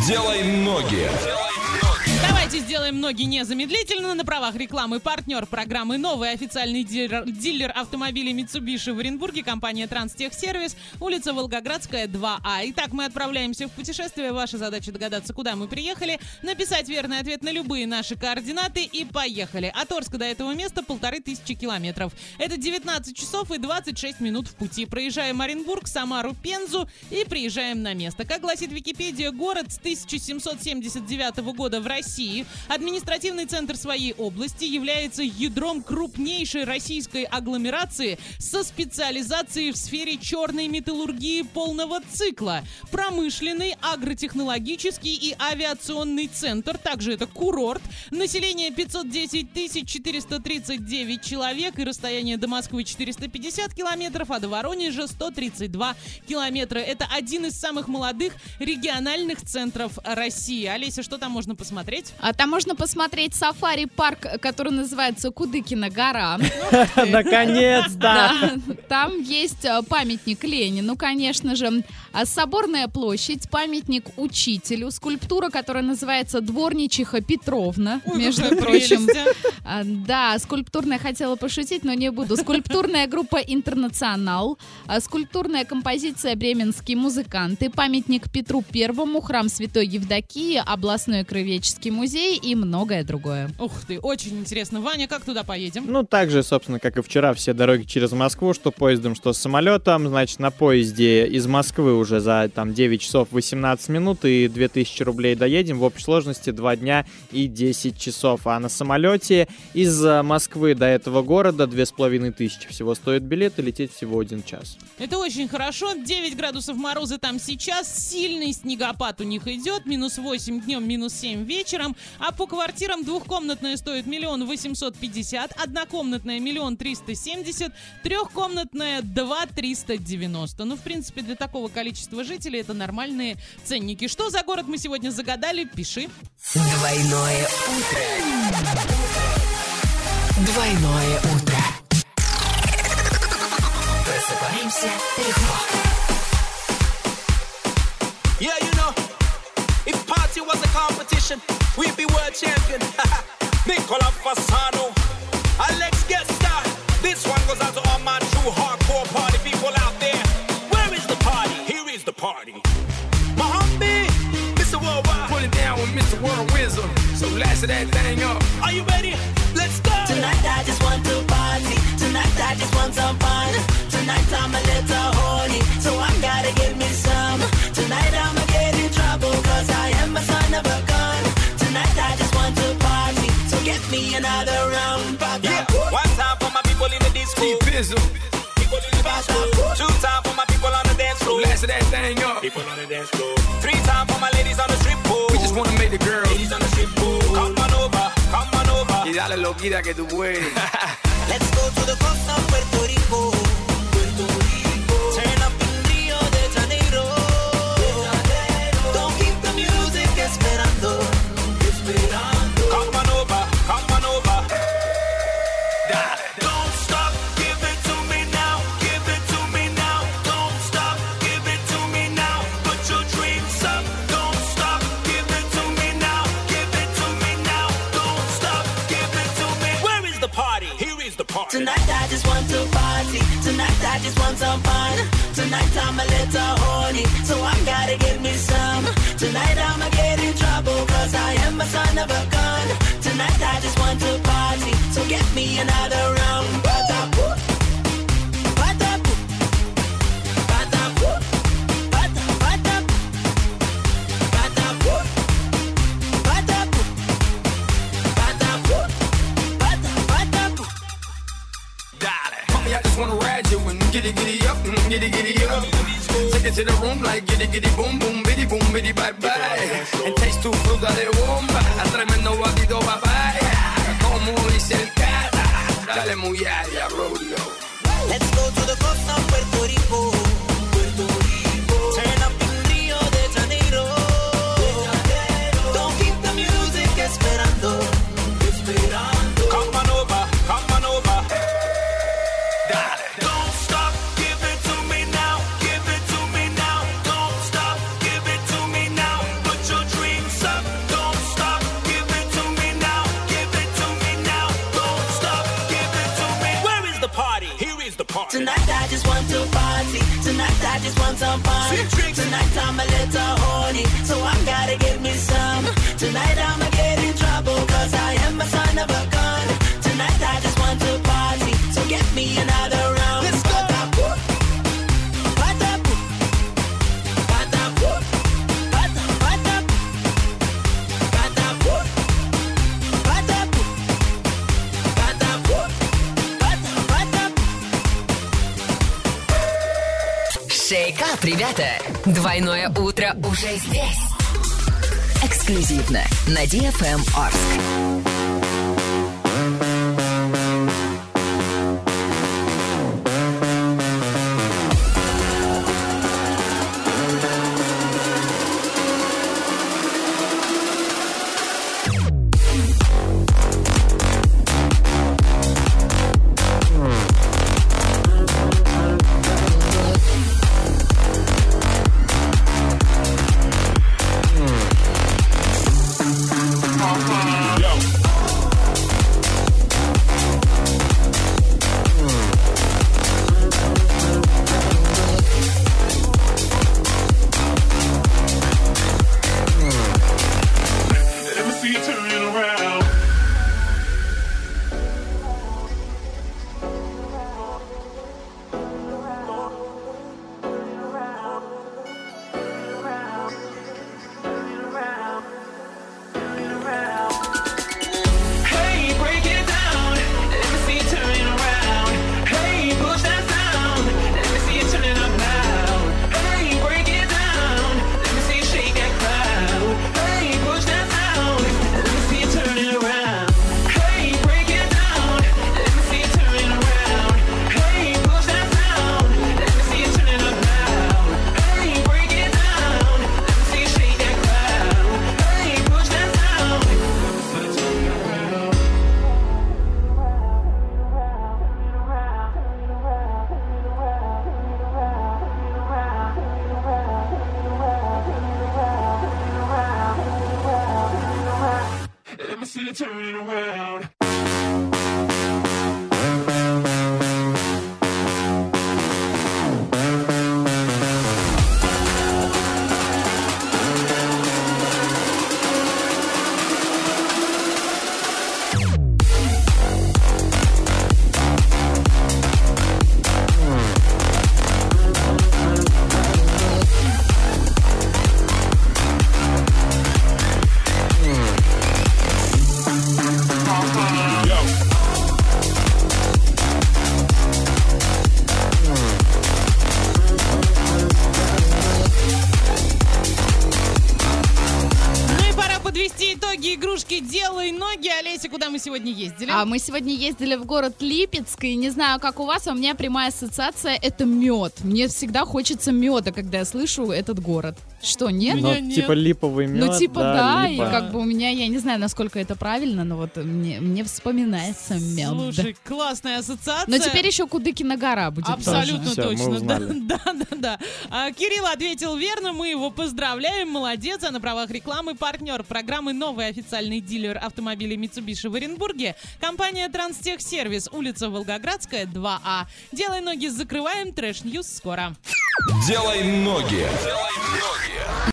Сделай ноги. Давайте сделаем ноги незамедлительно. На правах рекламы партнер программы «Новый официальный дилер автомобилей Mitsubishi в Оренбурге», компания «Транстехсервис», улица Волгоградская, 2А. Итак, мы отправляемся в путешествие. Ваша задача догадаться, куда мы приехали, написать верный ответ на любые наши координаты и поехали. От Орска до этого места 1500 километров. Это 19 часов и 26 минут в пути. Проезжаем Оренбург, Самару, Пензу и приезжаем на место. Как гласит Википедия, город с 1779 года в России. Административный центр своей области, является ядром крупнейшей российской агломерации со специализацией в сфере черной металлургии полного цикла. Промышленный, агротехнологический и авиационный центр. Также это курорт. Население 510 439 человек и расстояние до Москвы 450 километров, а до Воронежа 132 километра. Это один из самых молодых региональных центров России. Олеся, что там можно посмотреть? А там можно посмотреть сафари-парк, который называется Кудыкина гора. Наконец-то! Там есть памятник Ленину, конечно же. Соборная площадь, памятник учителю, скульптура, которая называется Дворничиха Петровна, между прочим. Да, скульптурная, хотела пошутить, но не буду. Скульптурная группа «Интернационал», скульптурная композиция «Бременские музыканты», памятник Петру Первому, храм Святой Евдокии, областной краеведческий музей и многое другое. Ух ты, очень интересно. Ваня, как туда поедем? Ну, так же, собственно, как и вчера, все дороги через Москву, что поездом, что самолетом. Значит, на поезде из Москвы уже за 9 часов 18 минут и 2000 рублей доедем. В общей сложности 2 дня и 10 часов. А на самолете из Москвы до этого города 2500 всего стоит билет и лететь всего 1 час. Это очень хорошо. 9 градусов мороза там сейчас. Сильный снегопад у них идет. -8 днем, -7 вечером. А по квартирам двухкомнатная стоит 1 850 000, однокомнатная 1 370 000, трехкомнатная 2 390. Ну, в принципе, для такого количества жителей это нормальные ценники. Что за город мы сегодня загадали? Пиши. Двойное утро. Двойное утро. Просыпаемся легко. Yeah, you know, if party was a competition, we'd be world champion. Nicola Fasano, Alex Gesta. This one goes out to all my true hardcore party people out there. Where is the party? Here is the party. Mohammed, Mr. Worldwide. Put it down with Mr. World Wisdom. So last of that thing up. Are you ready? Let's go. Tonight I just want to party. Tonight I just want some fun. Tonight I'm a little horny, so I gotta give me some. Tonight I'ma get in trouble, cause I am a son of a gun. Tonight I just want to party, so get me another round. Yeah, one time for my people in the disco. T-Pizzle. People in the bathroom. 2 times for my people on the dance floor. Last of that thing up. People on the dance floor. 3 times for my ladies on the strip pole. We just wanna make the girls. Ladies on the strip pole. Come on over, come on over. Y dale loquita que tú puedes. Let's go to the coast of Puerto Rico. Puerto Rico. Turn up in Rio de Janeiro. Don't keep the music esperando. Esperando. Come on over, come on over. Dale. Don't stop, give it to me now. Give it to me now. Don't stop, give it to me now. Put your dreams up. Don't stop, give it to me now. Give it to me now. Don't stop, give it to me. Where is the party? Here is the party. Tonight I just want to party. Tonight I just want some fun. Tonight I'm a little horny, so I gotta give me some. Tonight I'ma get in trouble, cause I am a son of a gun. Tonight I just want to party, so get me another round. Ba-da-boo. Ba-da-boo. Ba-da-boo. Ba-da-ba-da-boo. Ba-da-boo. Ba-da-boo. Ba-da-boo. Ba-da-ba-da-boo. Dale. Mommy, I just wanna ride you and giddy up, giddy up. Take it to the room like giddy boom boom biddy bye bye. And taste tu fruta de bomba, a tremendo batido papaya. Como dice el cara, dale muy allá, rodeo. Let's go to the coast of Puerto Rico. Puerto Rico. Turn up in Rio de Janeiro. Don't keep the music esperando. Esperando. Come on over, come on over. Dale. Don't stop, give it to me now. Give it to me now. Don't stop, give it to me now. Put your dreams want some fun. Tonight I'm a little horny, so I gotta get me some. Tonight I'ma get in trouble, cause I am a son of a gun. Tonight I just want to party, so get me another round. Let's go. Шейкап, ребята! Двойное утро уже здесь. Эксклюзивно на DFM Орск. Turn it around. Игрушки «Делай ноги». Олеся, куда мы сегодня ездили? А мы сегодня ездили в город Липецк, и не знаю, как у вас, а у меня прямая ассоциация — это мед. Мне всегда хочется меда, когда я слышу этот город. Что, нет? Ну, типа липовый мед. Ну, типа да, липа. И как бы у меня, я не знаю, насколько это правильно, но вот мне вспоминается мед. Слушай, классная ассоциация. Но теперь еще Кудыкина гора будет. Абсолютно тоже. точно. Всё, Да. Кирилл ответил верно, мы его поздравляем, молодец. А на правах рекламы партнер программы «Новый официальный дилер автомобилей Mitsubishi в Оренбурге» компания «Транстехсервис», улица Волгоградская, 2А. Делай ноги, закрываем. Трэш Ньюс скоро. Делай ноги. Делай ноги.